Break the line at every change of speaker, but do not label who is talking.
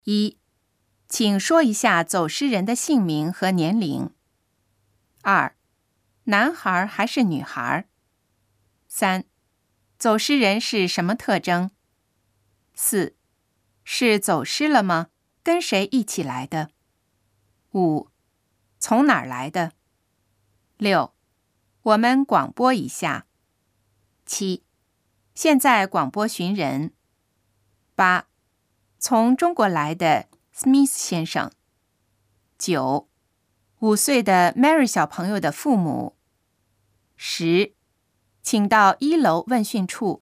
1. 请说一下走失人的姓名和年龄。2. 男孩还是女孩？3. 走失人是什么特征？4. 是走失了吗？跟谁一起来的？5. 从哪儿来的？6. 我们广播一下。7. 现在广播寻人。8. 从中国来的 Smith 先生。9. 5岁的 Mary 小朋友的父母。10. 请到1楼问讯处。